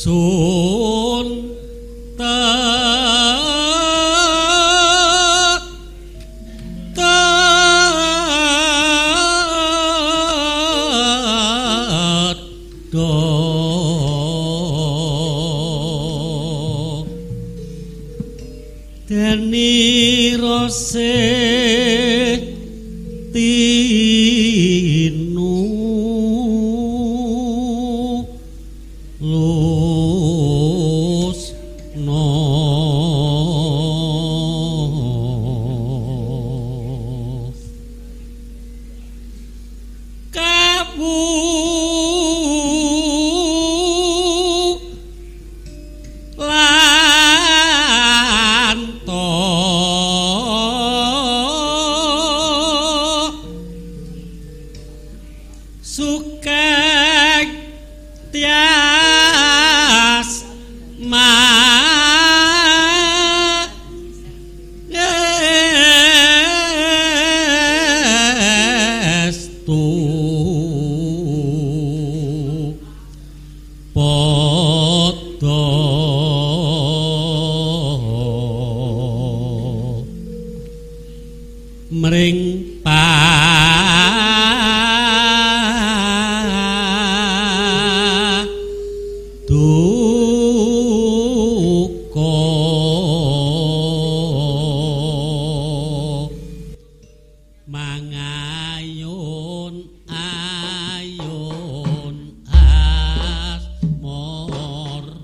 sun deni rose tinu lus no kabu sukek tias mangestu padha mring mangayun ayun asmara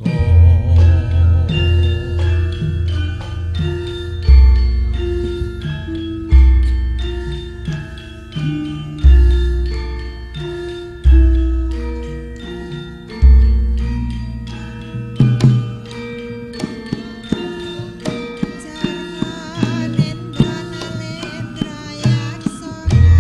Jangan indra nalendra yaksana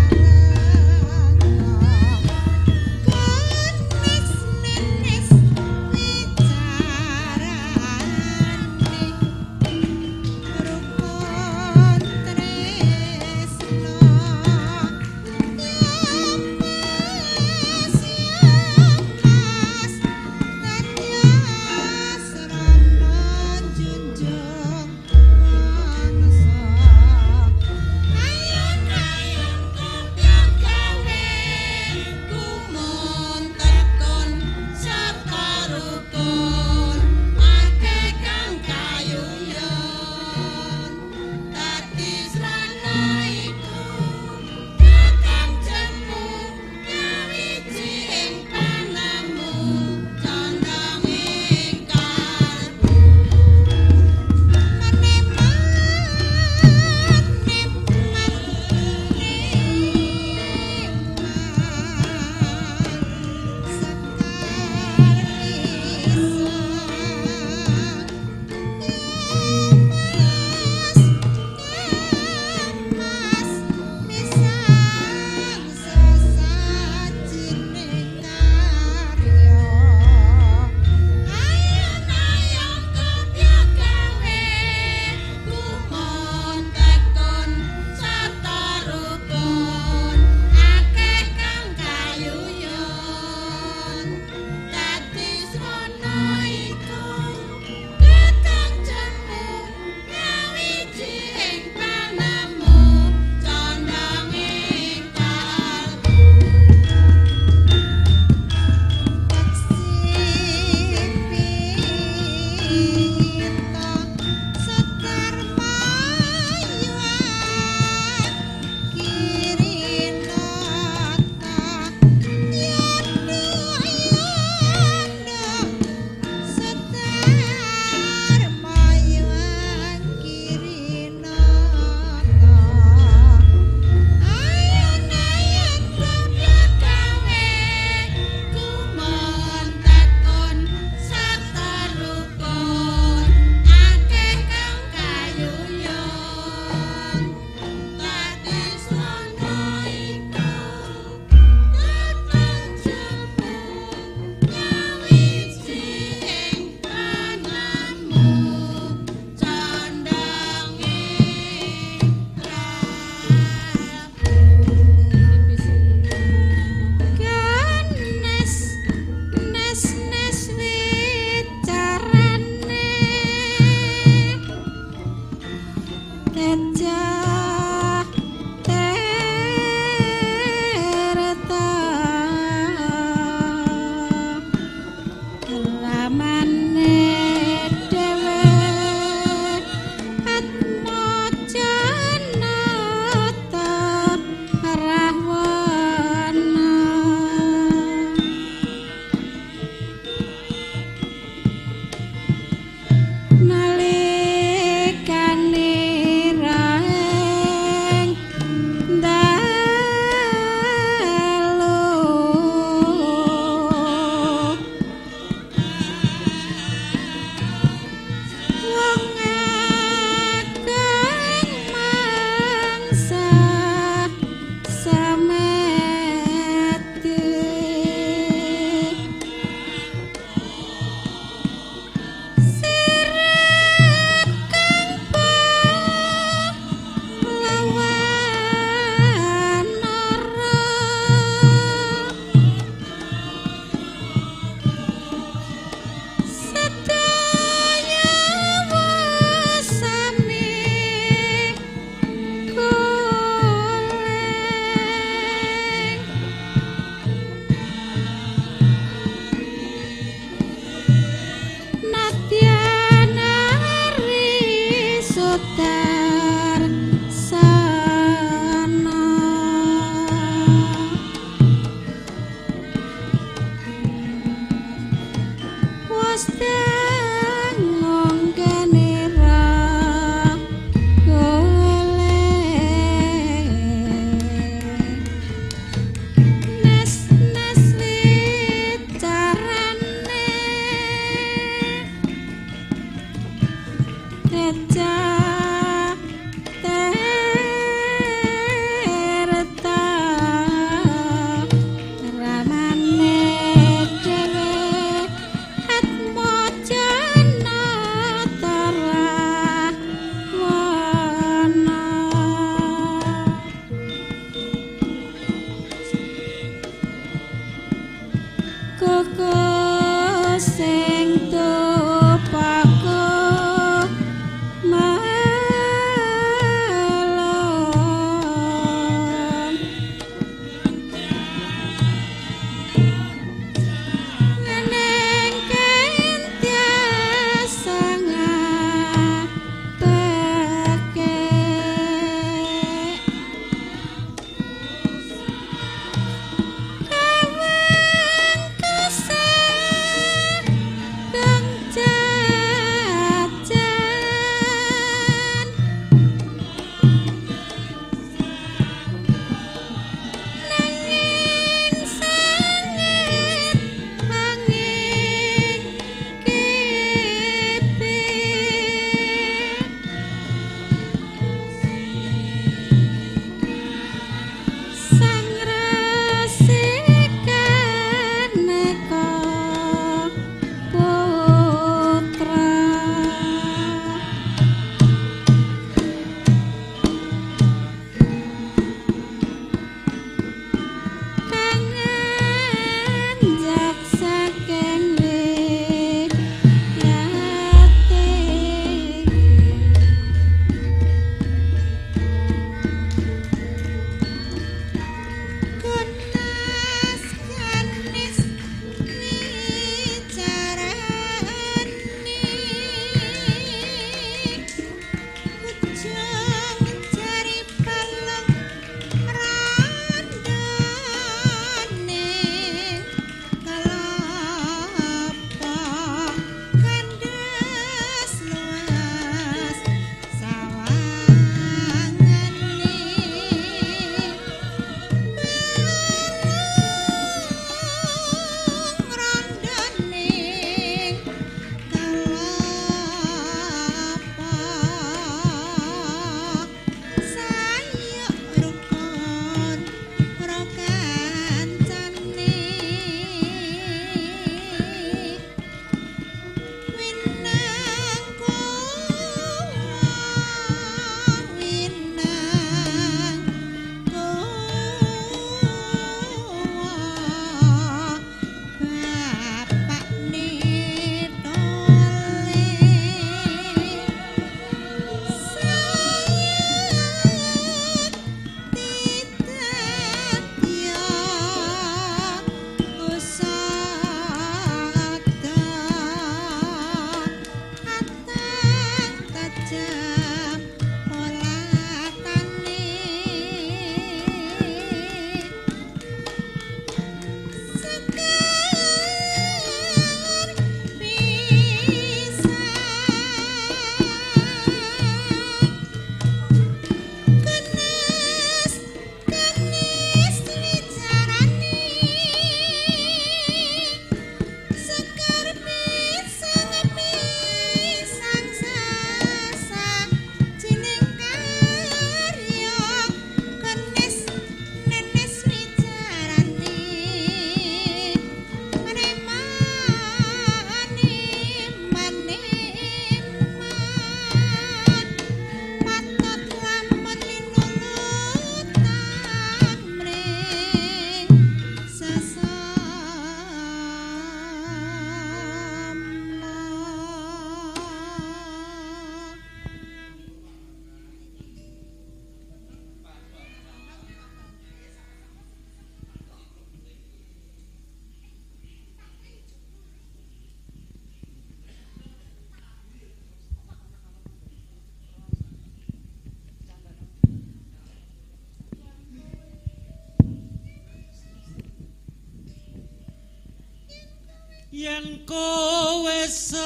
yen kowe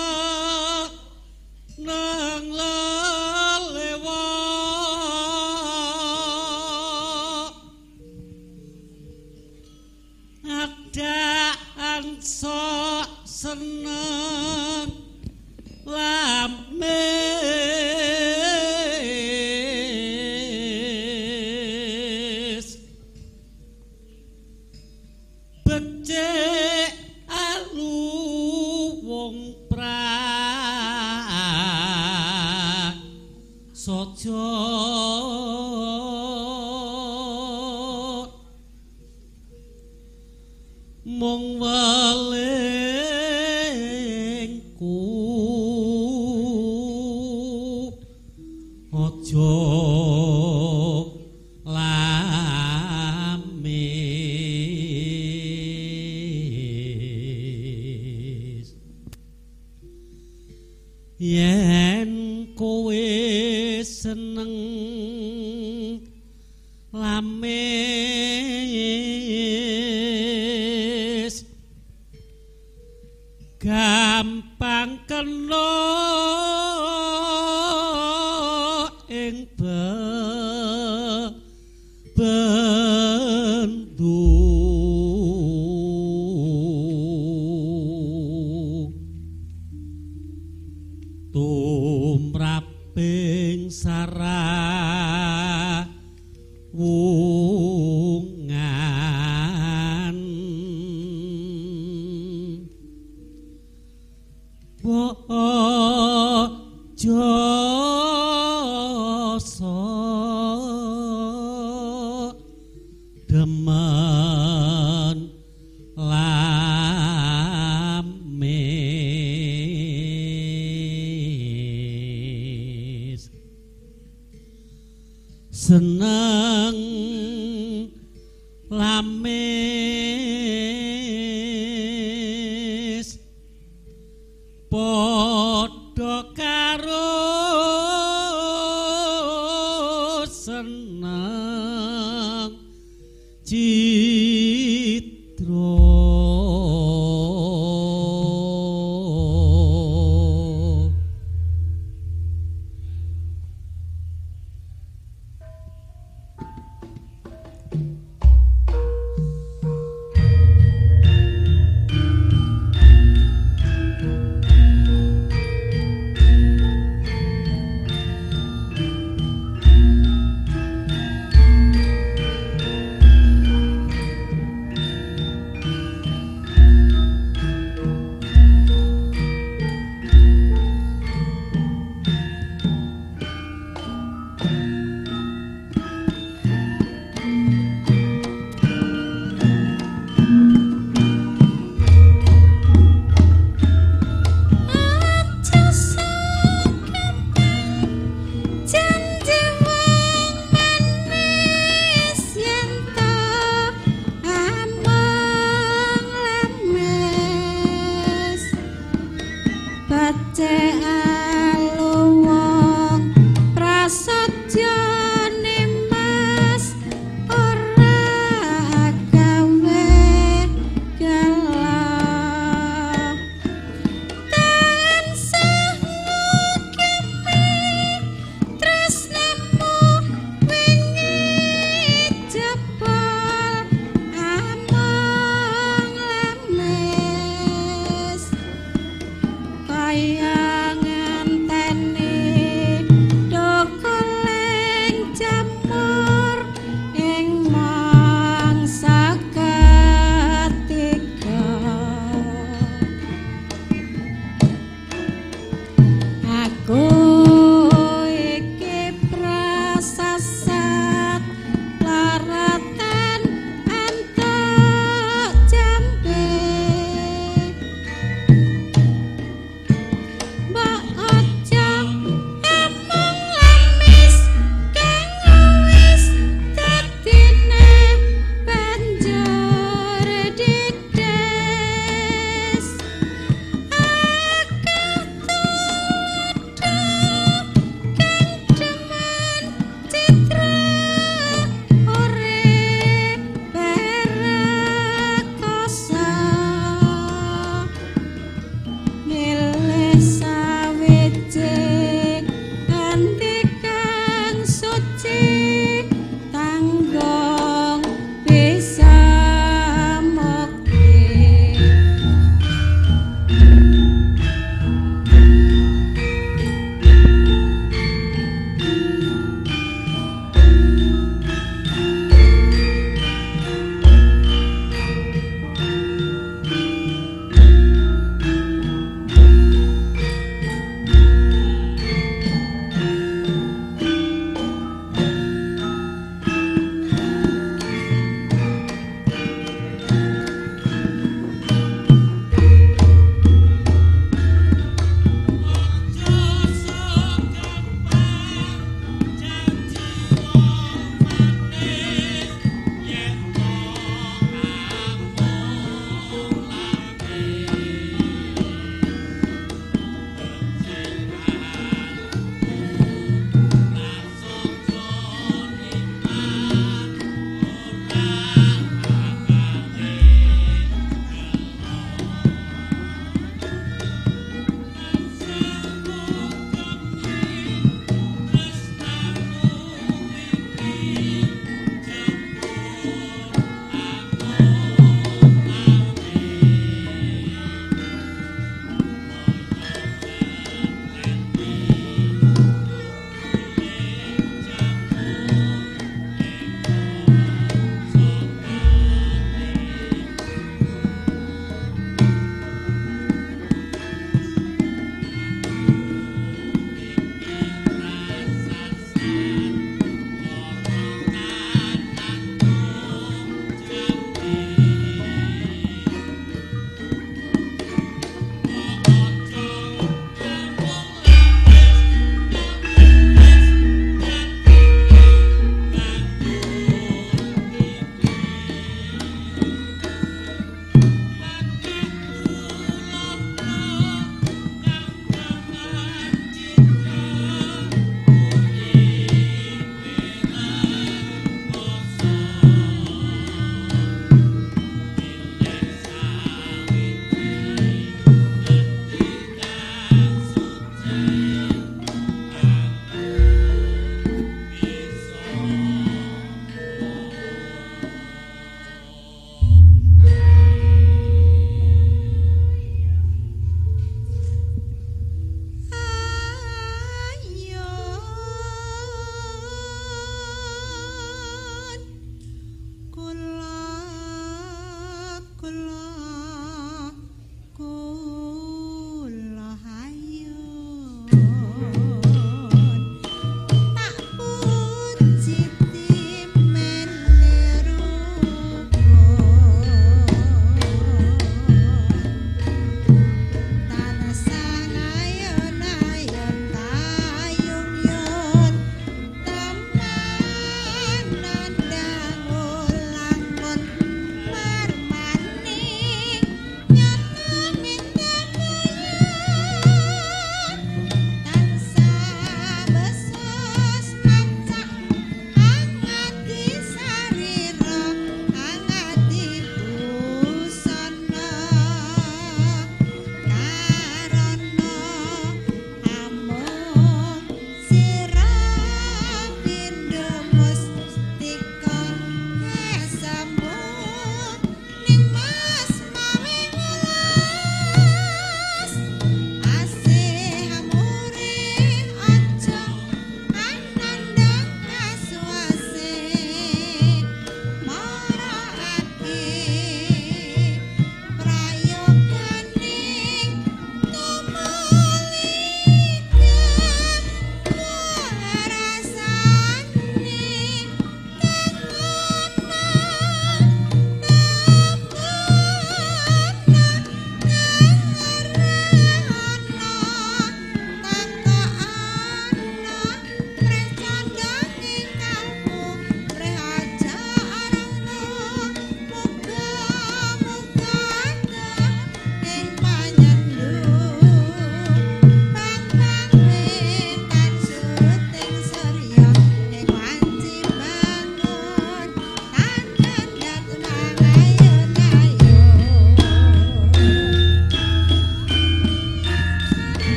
seneng lelewat adaan sok seneng lamis becik alu wong prasaja mung welingku aja lamis yen kowe seneng lamis gampang kena ing bendu tumraping sarah wungan jasa demen lamis seneng lamis padha karo seneng citra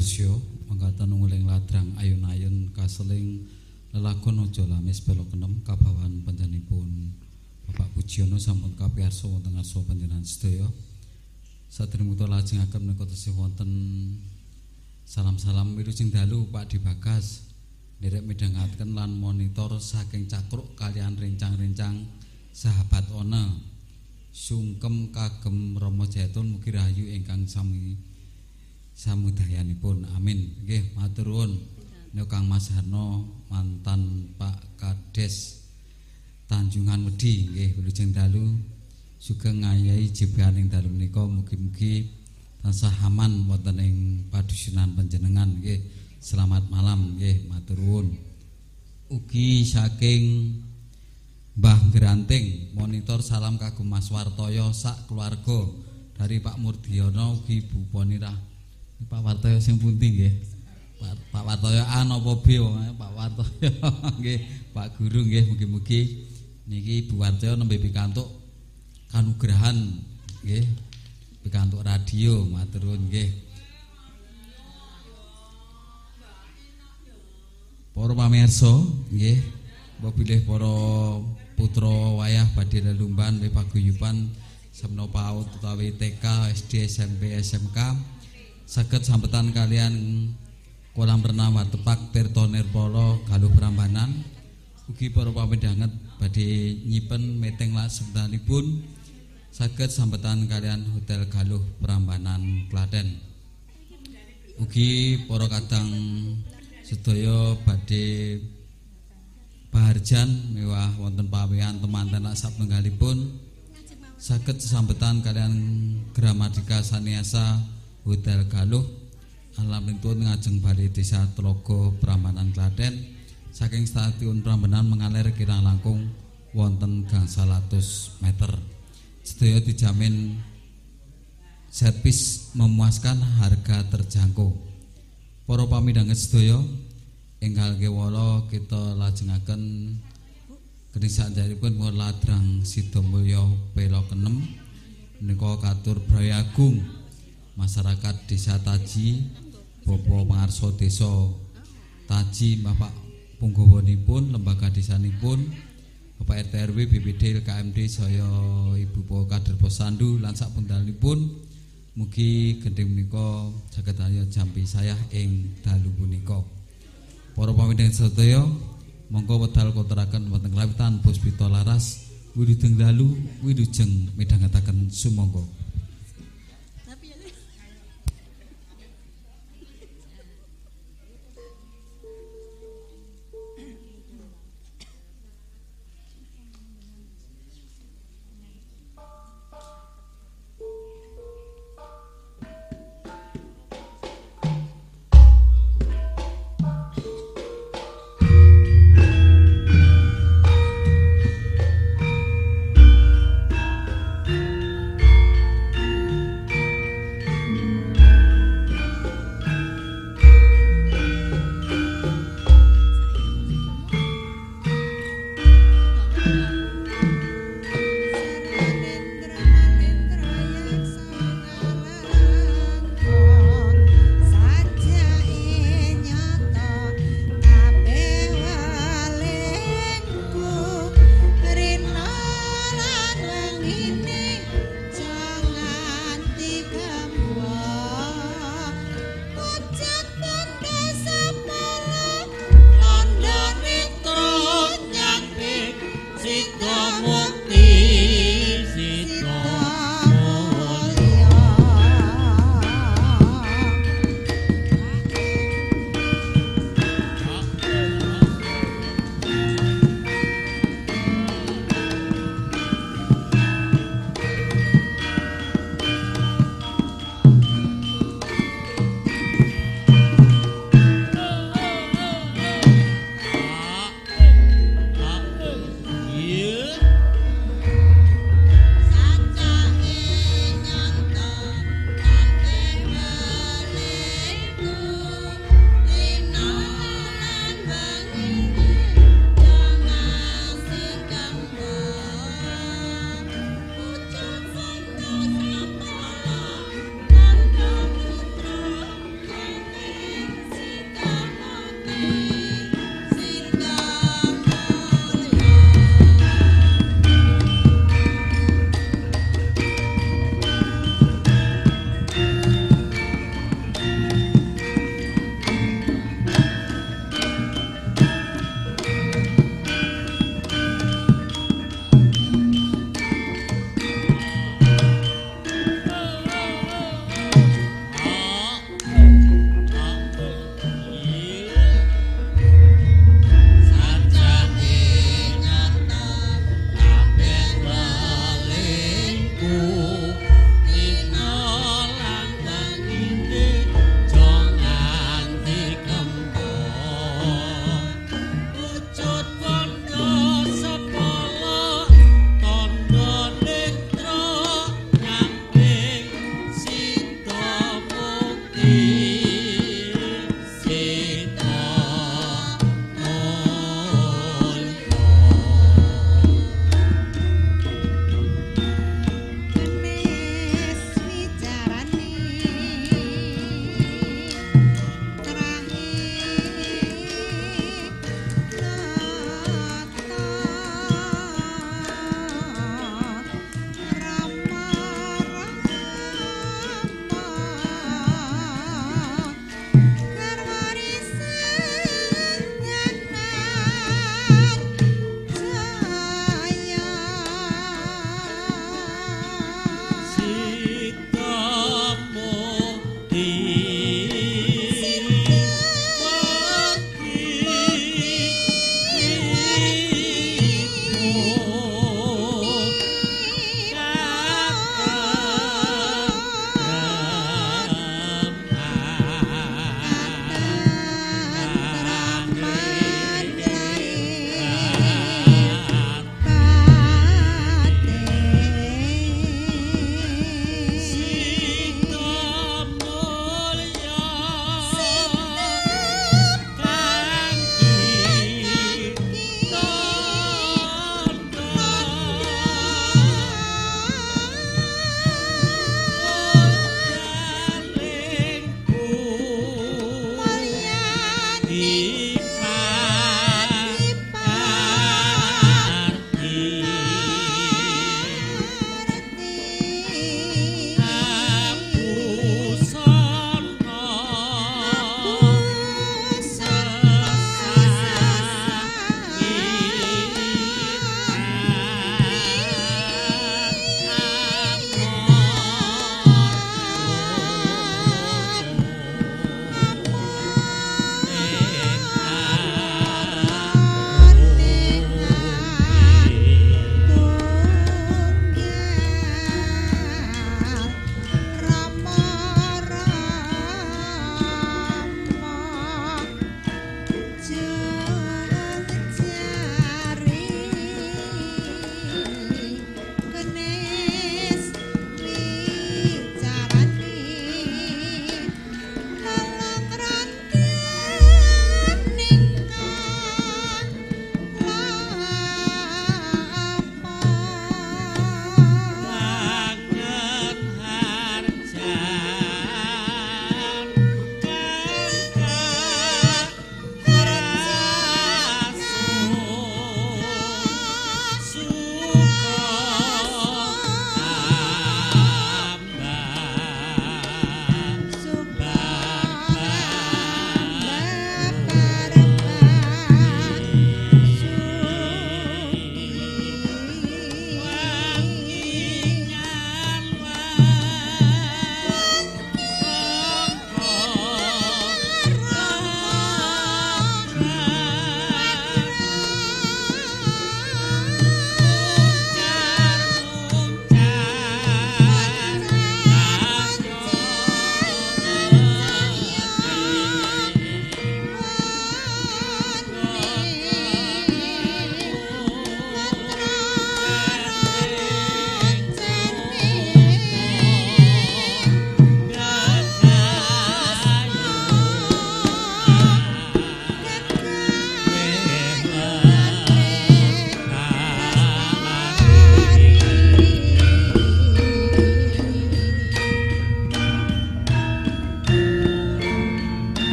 Miarsya mangkatan nguling ladrang ayun-ayun kaseling lelagon aja lamis belok enem kabawan panjenenganipun Bapak Pujiono sampun kapiyarsa wonten ngarsa panjenengan sedaya. Sadèrèngipun lajengaken menika tesih wonten salam-salam wilujeng dalu Pak Dibagas nderek midhangaken lan monitor saking cakruk kalian rencang-rencang sahabat ona sungkem kagem Rama Jayatun mugi rahayu ingkang sami samudayanipun. Amin. Nggih, matur nuwun. Nek Kang Mas Harno mantan Pak Kades Tanjungan Wedi nggih wilujeng dalu sugeng ngayahi jebaning dalu menika mugi-mugi tansah aman wonten ing padusunan panjenengan nggih. Selamat malam nggih, matur nuwun. Ugi saking Mbah Granting monitor salam kagem Mas Wartoyo sak keluarga dari Pak Murdiono ugi Bu Ponirah. Pak Wartoyo sing pundi nggih? Pak Wartoyo A napa B Pak Wartoyo nggih, Pak Guru nggih mugi-mugi niki Bu Wartoyo nembe pikantuk kanugrahan nggih, pikantuk radio matur nuwun nggih. Para pamirsa nggih, bilih para putra wayah badhe lelumban paguyuban semana PAUD utawi TK, SD, SMP, SMK saged sambetan kalian kolam renang Watepak Tirta Nirpala Galuh Prambanan. Ugi para pamidhanget badhe nyipen meting laksanipun saged sambetan kalian Hotel Galuh Prambanan Klaten. Ugi para kadang sedaya badhe paharjan mewah wonten pawean temanten sapenggalipun saged sambetan kalian Gramadika Saniasa Hotel Galuh alaminipun ngajeng Balai Desa Tlaga Prambanan Klaten saking stasiun Prambanan mengalir kirang langkung wonten gangsal atus meter. Sedaya dijamin servis memuaskan, harga terjangkau. Para pamidhanget sedaya enggal kewala kita lajengaken kening sanjaripun ladrang Sidomulya Pela Kenem menika katur Brayagung masyarakat Desa Taji Bapak Pangarsa Desa Taji Bapak Punggawanipun lembaga desanipun Bapak RT RW BPD KMD saya Ibu Kader Posandu lan sak pundhalipun mugi gendhing menika saged ayo jampi sayah ing dalu punika. Para pamidhanget sedaya monggo wedal koteraken wonten klawitan Puspita Laras wilujeng dalu wilujeng midhangetaken sumangga.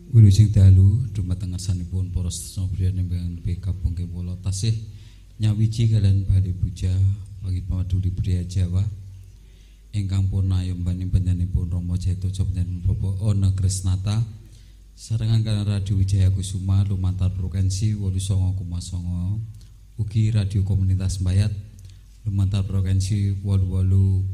Wilujeng dalu dumateng ngarsanipun para sedherek priyan ingkang kabung kula tasih nyawiji kalian Bali Puja bagi pamaduli pria Jawa ingkang purna yombani panjenenganipun Rama Jaito panjenengan Bapak Ona Krisnata sarengan kalian Radio Wijaya Kusuma lumantar frekuensi 89,9 ugi radio komunitas Bayat lumantar frekuensi 88,5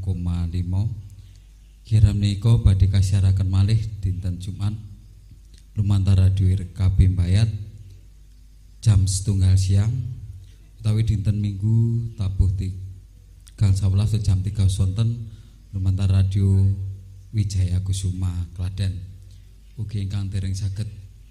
kira menika badhe kasiaraken malih dinten Jumat lumantar radio RKB Bayat jam 1:30 siang utawi dinten Minggu tabuh 11 jam 3 sonten lumantar radio Wijaya Kusuma Klaten ugi ingkang dereng saged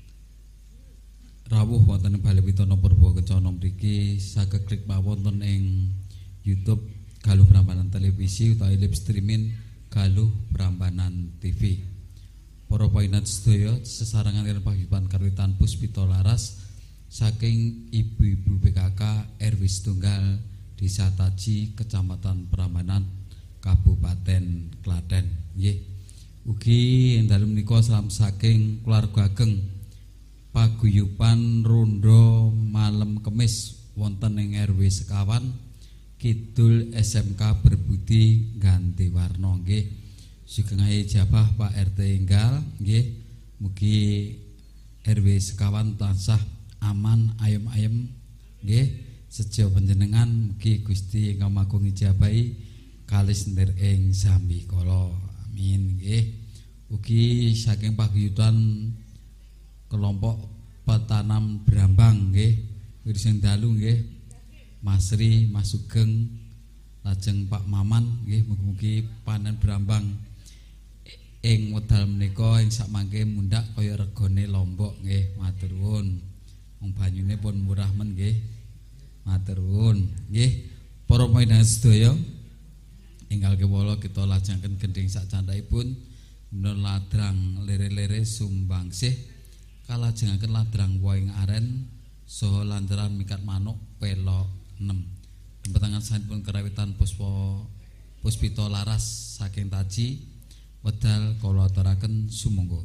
rawuh wonten ing Balewitana Purba Kencana mriki saged klik mawon wonten ing YouTube Galuh Prambanan Televisi utawi live streaming Galuh Prambanan TV. Para painat sedaya sesarengan kaliyan paguyuban kawitan Puspita Laras saking ibu-ibu PKK RW Setunggal Desa Taji Kecamatan Prambanan Kabupaten Klaten. Nggih. Ugi ing dalem menika salam saking keluarga ageng paguyuban Rondo Malem Kemis wonten ing RW Sekawan Kidul SMK Berbudi Ganti Warna nggih. Sugeng ijabah Pak RT enggal nggih. Mugi RW Sekawan tansah aman ayem-ayem nggih. Sejo panjenengan mugi Gusti ingkang Magung ijabahi kalis ndir ing sami kala. Amin nggih. Ugi saking paguyuban kelompok petanam Brambang nggih. Wilujeng dalu nggih. Mas Ri, Mas Sugeng, lajeng Pak Maman nggih mugi-mugi panen Brambang ing wedal menika ing sakmangke mundhak kaya regane lombok nggih. Matur nuwun. Wong banyune pun murah men nggih. Matur nuwun nggih. Para paindah sedaya ingkang kewala kita lajengaken gending sak candhaipun menawi ladrang lere-lere sumbangsih kalajengaken ladrang Woing Aren saha lantaran mikat manuk pelok 6 tempetangan sampun kerawitan Puspita Laras saking Taji wedal kula aturaken sumangga.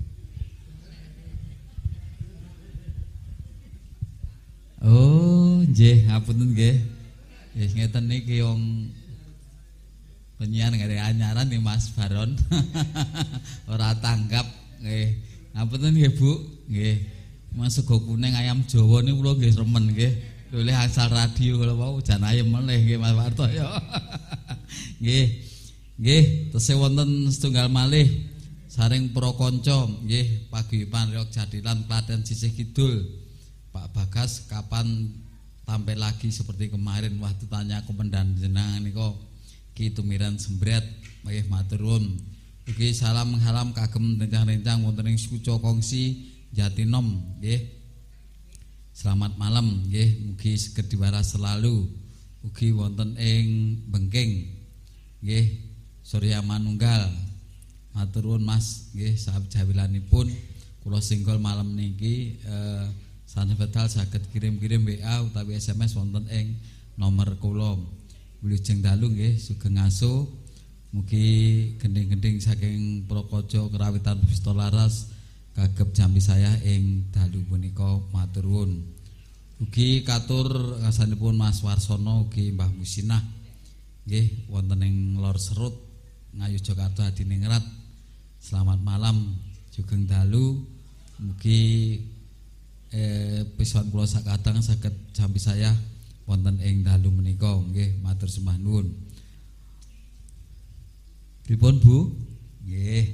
Oh nggih ngapunten nggih. Nggih ngeten niki wong penyiar ngare anyaran nih Mas Baron ora tanggap nggih. Ngapunten nggih Bu nggih. Mas sego kuning ayam Jawa niku kula nggih remen nggih. Oleh asal radio kula wau jan ayem meneh nggih Mas Warto ya. Nggih. Nggih, tesih wonten setunggal malih saring para kanca nggih paguyuban Riok Jadilan Klaten sisih kidul. Pak Bagas kapan tampil lagi seperti kemarin waktu tanya komandan jenengan niku Ki Tumiran Sembret nggih matur nuwun. Ugi salam halam kagem rencang-rencang wonten ing Suco Kongsi Jatinom nggih. Selamat malam nggih, mugi saged diwaras selalu. Ugi wonten ing Bengking nggih Surya Manunggal. Matur nuwun Mas nggih sahabat jawilanipun kula singgol malam niki sanebétal saged kirim-kirim WA utawi SMS wonten ing nomor kula. Wilujeng dalu nggih sugeng aso mugi gending-gending saking Prokojo kerawitan Puspita Laras kagem jampi saya ing dalu punika matur nuwun. Ugi katur ngasanipun Mas Warsono ugi Mbah Musinah nggih wonten ing Lor Serut Ngayu Jakarta Hadiningrat. Selamat malam sugeng dalu mugi pisuan kula sakadang saged jampi saya wonten ing dalu menika nggih matur sembah nuwun. Pripun Bu? Nggih.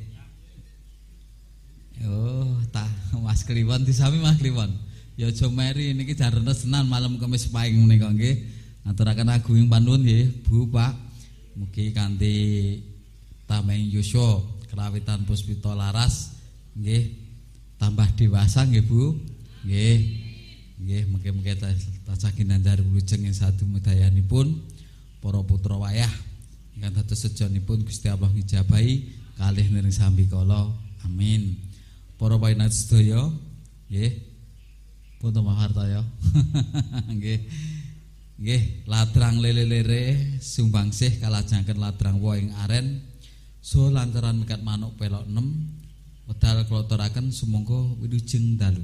Oh, tah Mas Kliwon disami Mas Kliwon. Ya aja meri niki jarene senan malam Kamis paing menika nggih. Aturaken agunging panuwun nggih Bu Pak. Mugi kanthi tameng yuswa kerawitan Puspita Laras nggih tambah dewasa nggih Bu. Nggih. Nggih mugi-mugi tansah ginandhar wilujeng ing sadumudayanipun para putra wayah ingkang dados sejonipun Gusti Allah ngijabahi kalih niring sambi kala. Amin. Para painat sedaya nggih. Punten mahartaya. Nggih. Nggih, ladrang lele-lere sumbangsih kalajengaken ladrang Woing Aren so lantaran mikat manuk pelok 6 Wedal kula aturaken sumangga wilujeng dalu.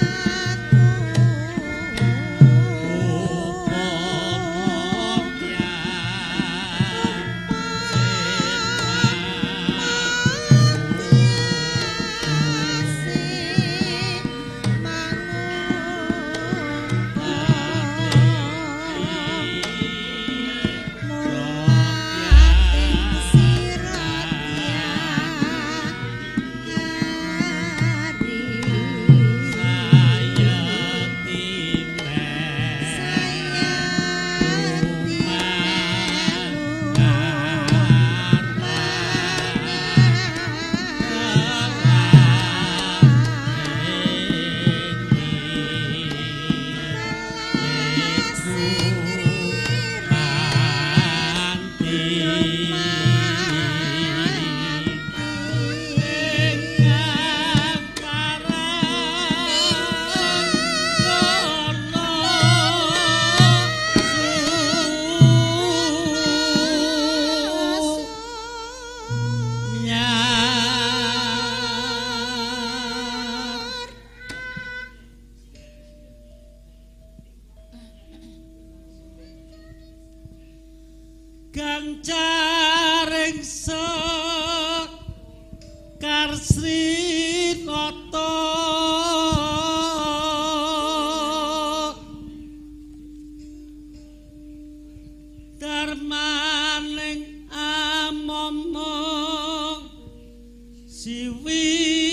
Gancaring sekar Srinata darmaning amomong siwi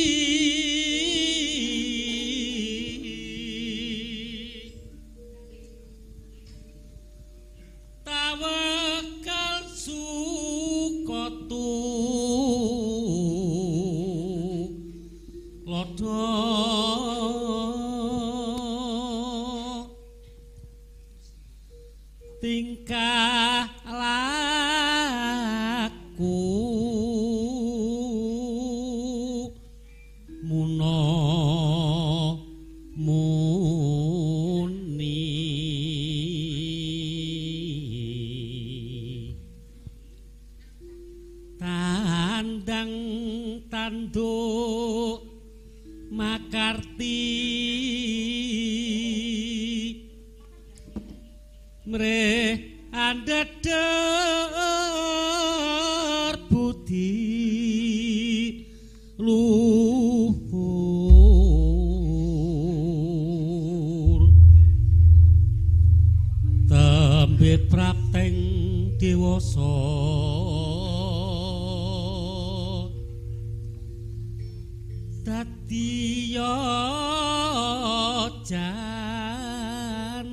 tawakal sukotu lodho tingkah laku muno muni tandang tanduk makarti mreh andeder budi luhur tembit prapteng dewasa dadi jan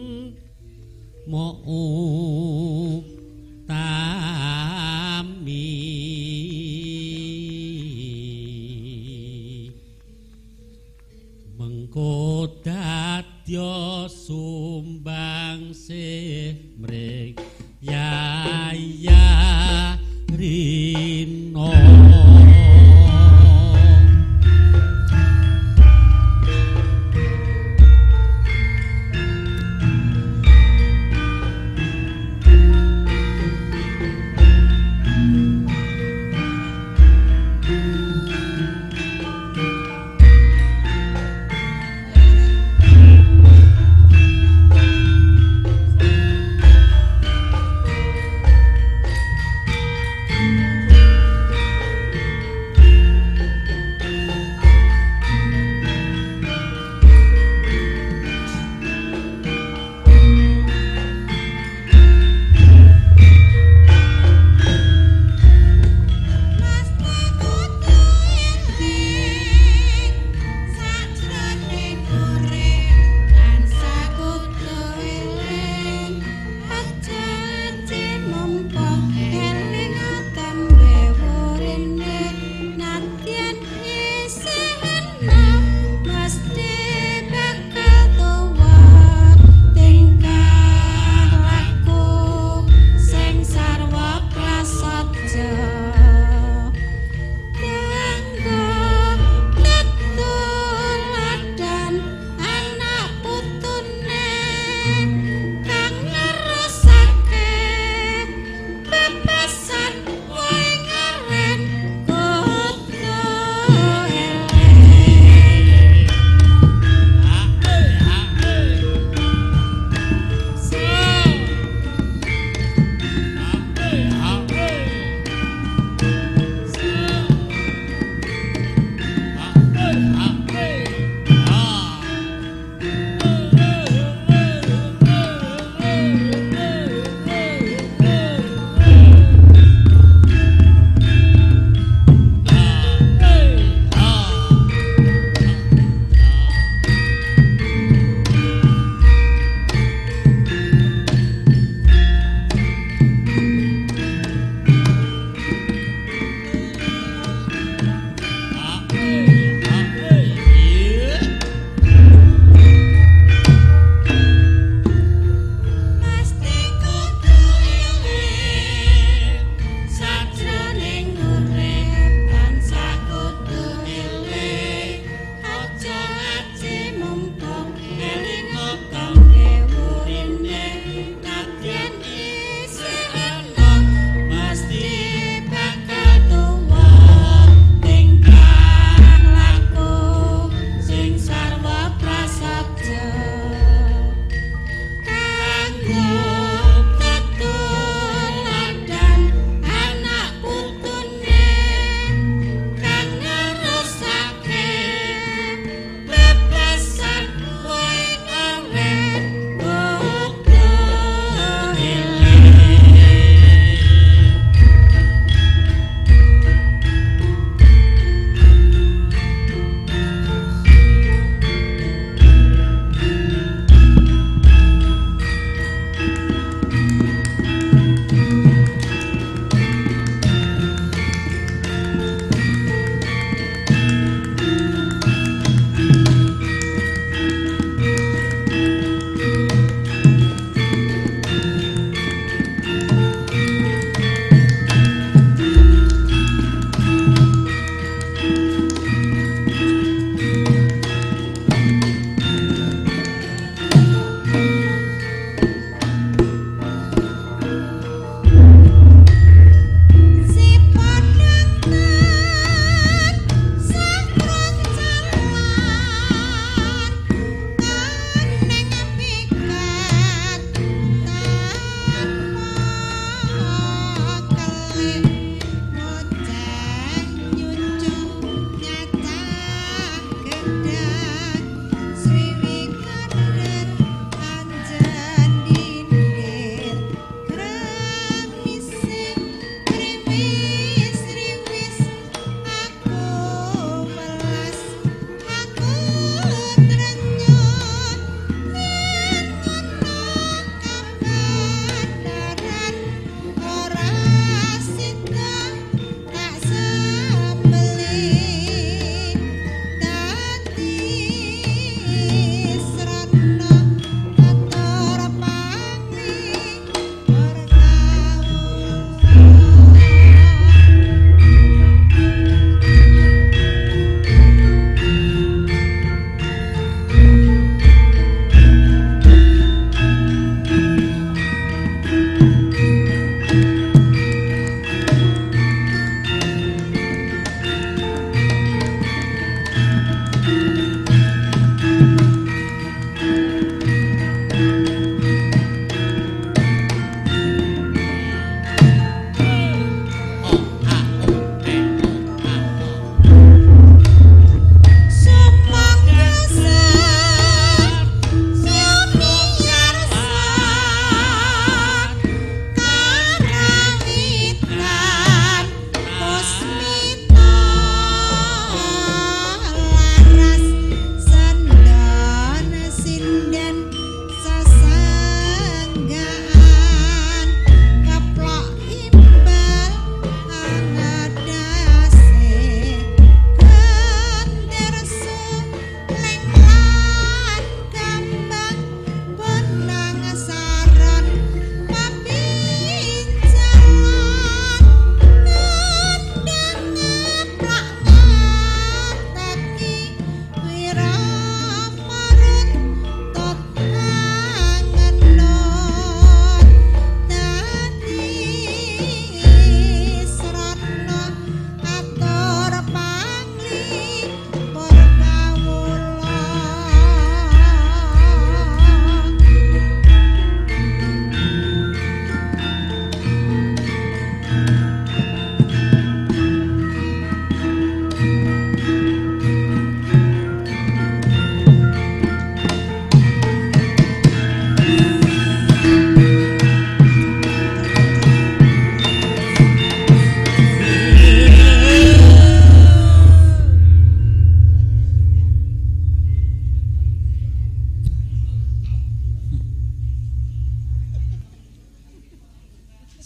mau tami mengko dadya sumbang mrek yaya rino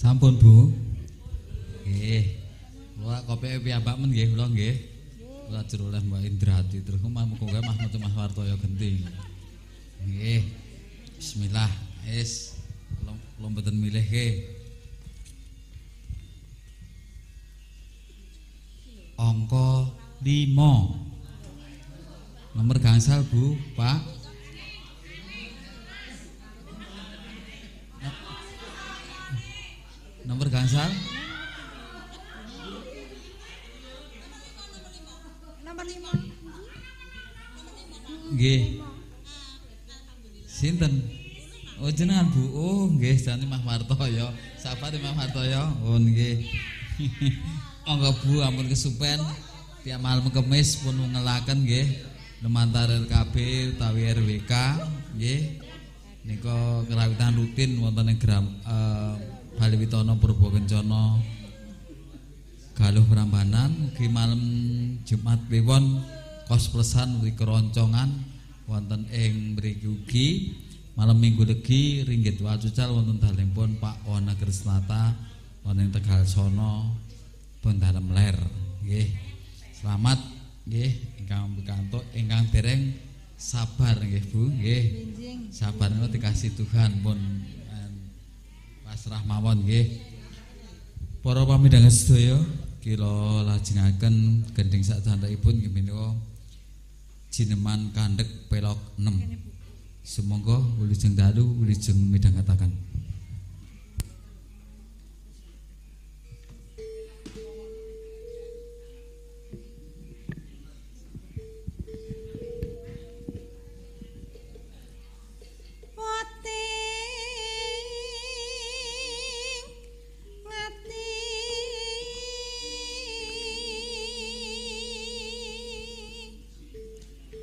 Sampun, Bu. Nggih. Kula kopi piyambak men nggih kula nggih. Kula ajur oleh Mbak Indrati terus muga-muga Mas Wartoyo genting. Nggih. Bismillah. Wis kula mboten milihke. Angka 5. Nomor gangsal, Bu, Pak. Nomor gangsal? Nomor 5. Nggih. Sinten? Oh jenengan, Bu. Oh, nggih, jane Mas Wartoyo. Sabar Mas Wartoyo. Oh, nggih. Monggo Bu ampun kesupen tiap malam Kemis pun ngelaken nggih lumantar RKB utawi RWK nggih nika kerawitan rutin wonten ing Baliwitana Purbakencana Galuh Prambanan ugi malam Jumat Kliwon kos-plesan ugi keroncongan wonten ing mriki ugi malam Minggu Legi ringgit wacucal wonten dalempun Pak Wana Krisnata wonten Tegal Sono pun dalem ler nggih. Selamat nggih ingkang pikantuk ingkang dereng sabar nggih Bu nggih. Sabar niku dikasih Tuhan pun pasrah mawon nggih. Para pamidhangan sedaya kula lajengaken gending sak candhaipun nggih menika jineman kandhek pelok 6. Sumangga wilujeng dalu wilujeng midhangetaken.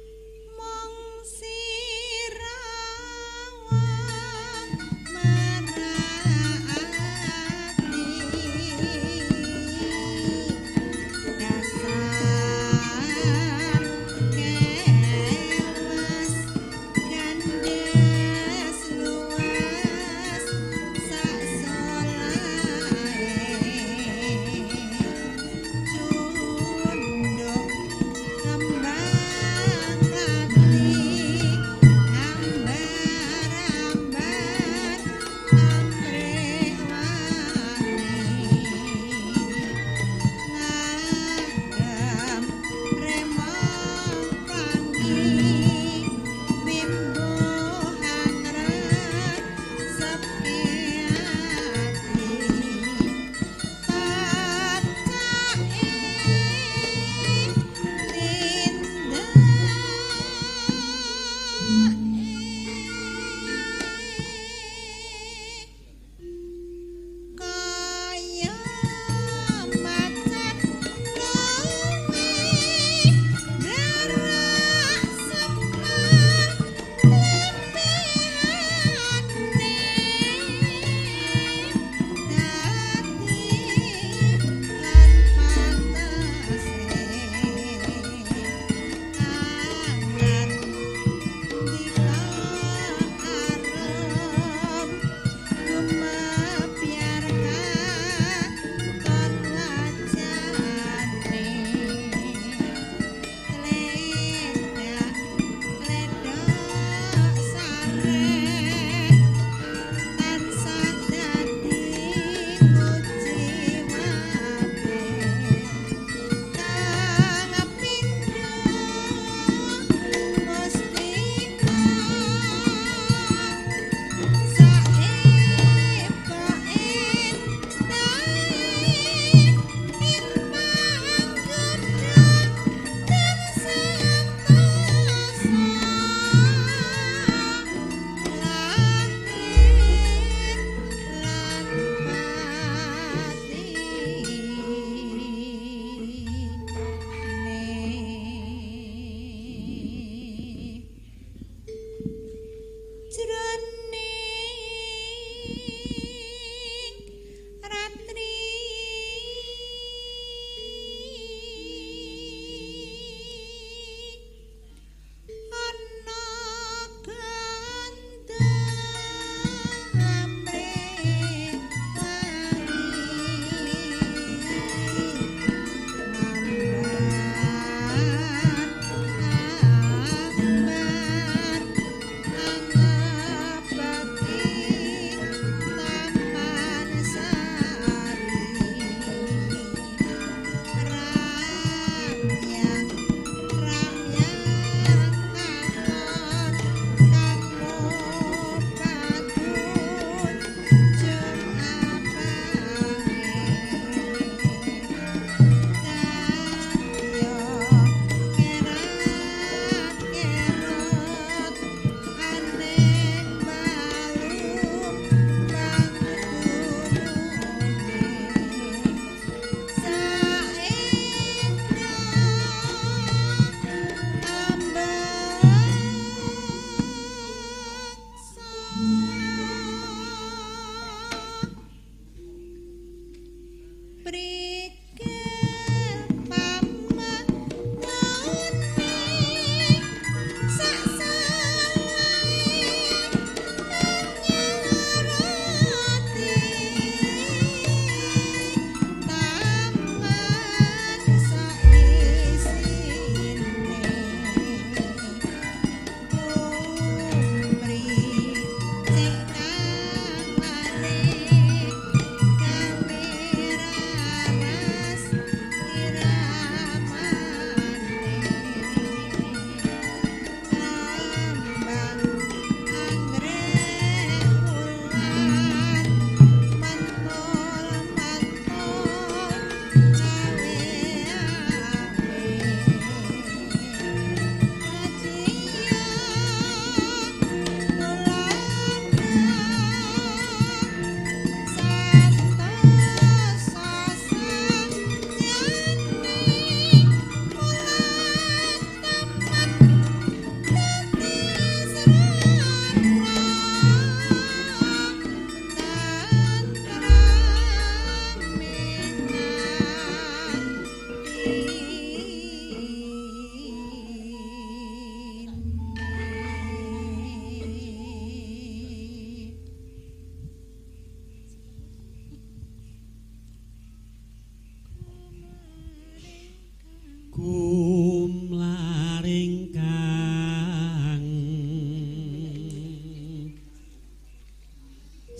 Mong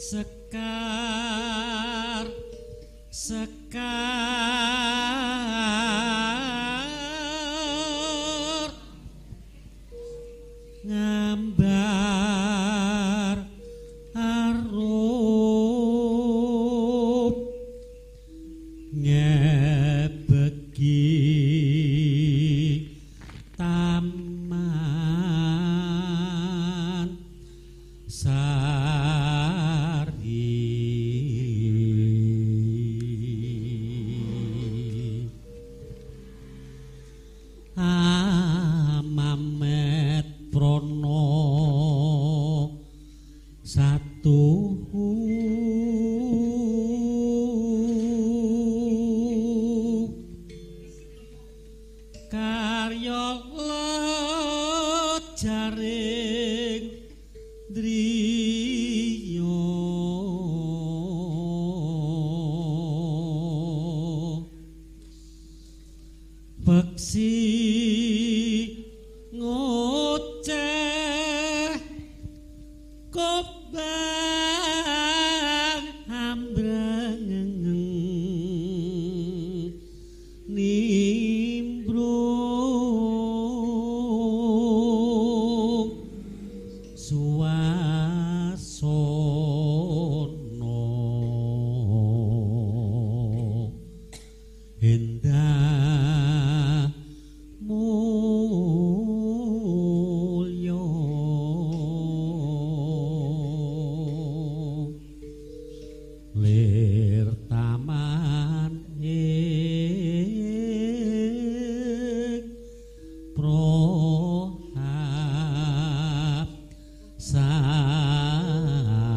sekar ngambar arup ngebeki taman Amamet Prono satu karya jaring driya beksi ngoceh kobang ambrang nimbrung suasana endah mulya lir taman ing prohab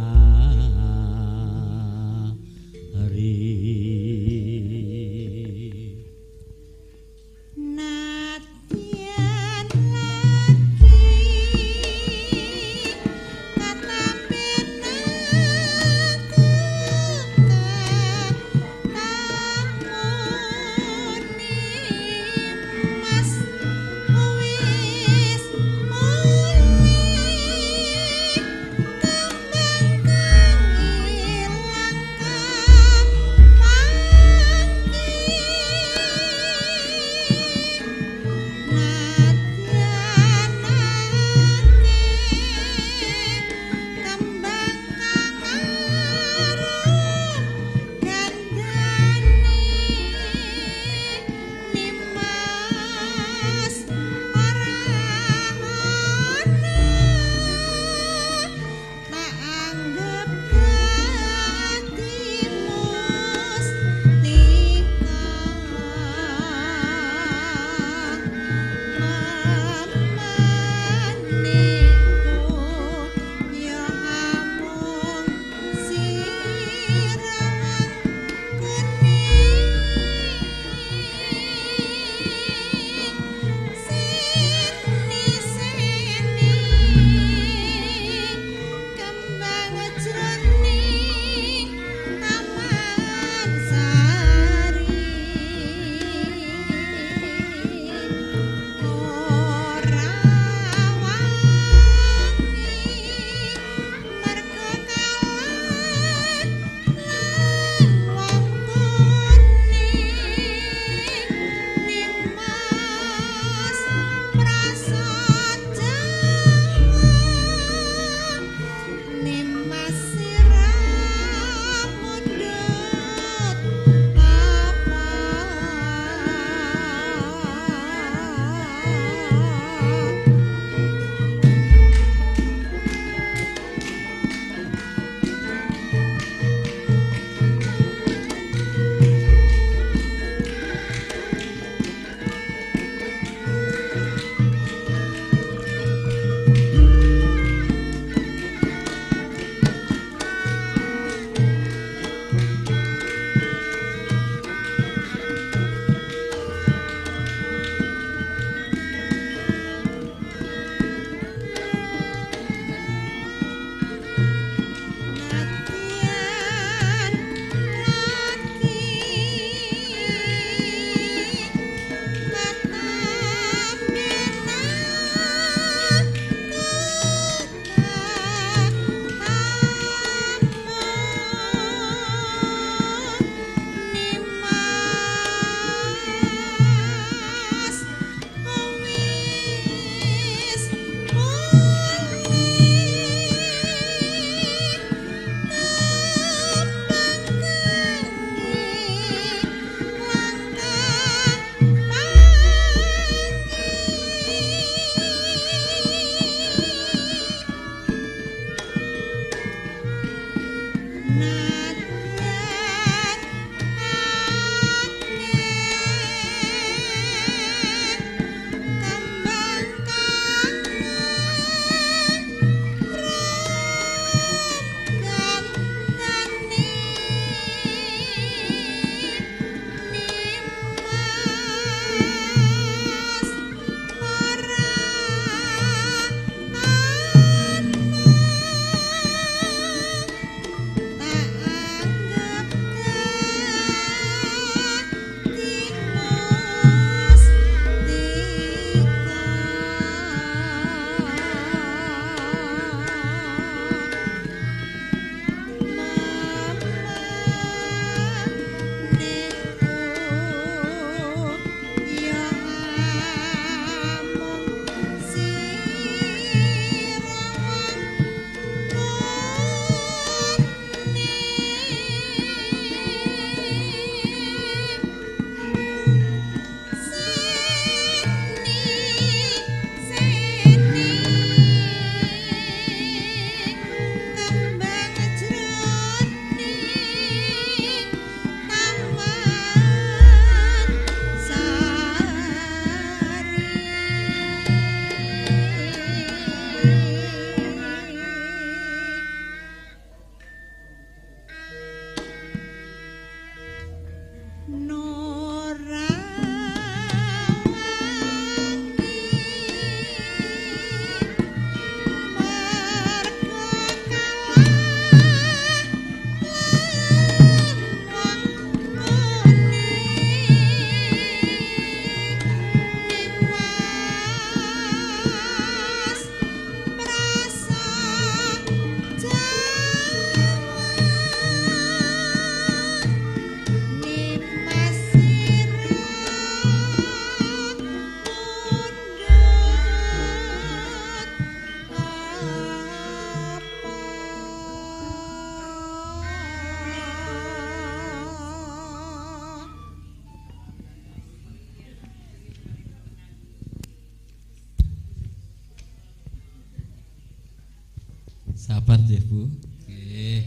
Sabar nggih Bu. Nggih.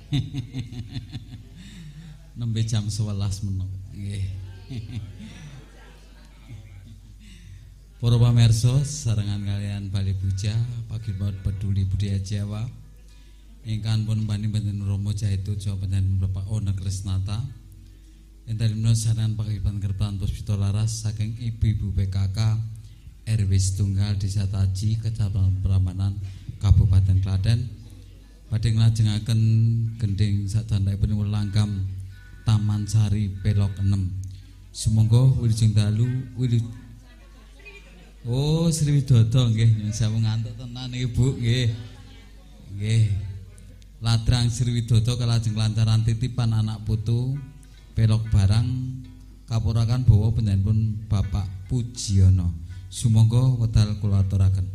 Nembe jam 11 menit. Nggih. Para pamirsa sarengan kalian Bali Puja Paguyuban Peduli Budaya Jawa ingkang pun bani-bani Romo Jaitu Jawa Panjenengan Bapak Ona Krisnata enten menawi sarengan Paguyuban Kerpan Puspita Laras saking Ibu-ibu PKK RW Setunggal Desa Taji Kecamatan Prambanan Kabupaten Klaten badhe nglajengaken gending sadandaipun langgam Taman Sari Pelok 6 sumangga wilujeng dalu Oh, Sri Widodo nggih, sampun ngantuk tenan Ibu nggih. Nggih. Ladrang Sri Widodo kalajeng kelancaran titipan anak putu pelok barang kapurakan bawa panjenenganipun Bapak Pujiono. Sumangga wedal kula aturaken.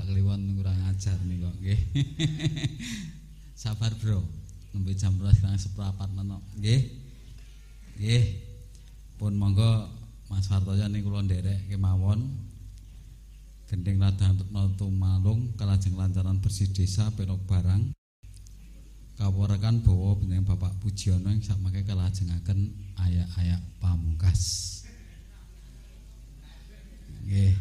Pak Kliwon kurang ajar nih kok nggih. Sabar bro, nembe jam 12:04 menit nggih. Nggih. Pun monggo Mas Wartoyo niku kula nderek kemawon. Gending ladang tumalung kalajeng lancaran bersih desa penok barang. Kawurakan bawa benjing Bapak Pujiono yang sakmangke kalajengaken ayak-ayak pamungkas. Nggih.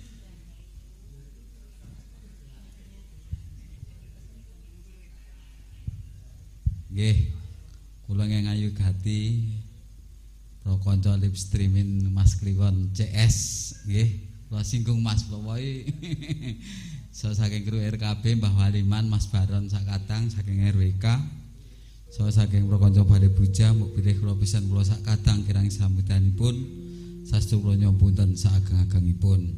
Nggih. Kula ngayu gati pro kanca live streaming Mas Kliwon CS nggih. Kula singgung Mas Plowoi. So saking kru RKB Mbah Waliman Mas Baron sakadang saking RWK. So saking Prokonco Bale Buja muk bilih kula pisan kula sakadang kirang sambutanipun saestu kula nyampunten saageng-agengipun.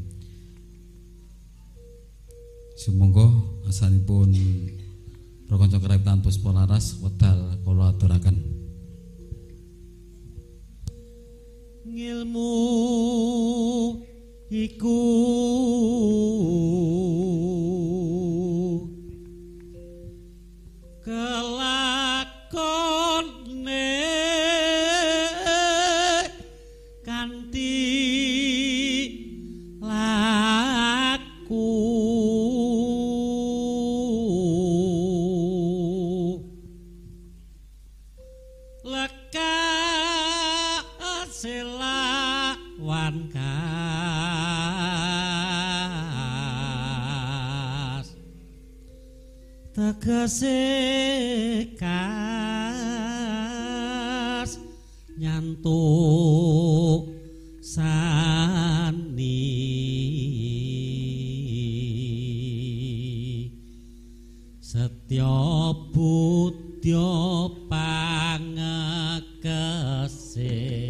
Sumangga asanipun Prokonco Kereptan Puspolaras wedal kula aturaken. Ngilmu iku kelakone kanthi laku lekas selawan kas tegese kas nyantuk sani setya budya pangekese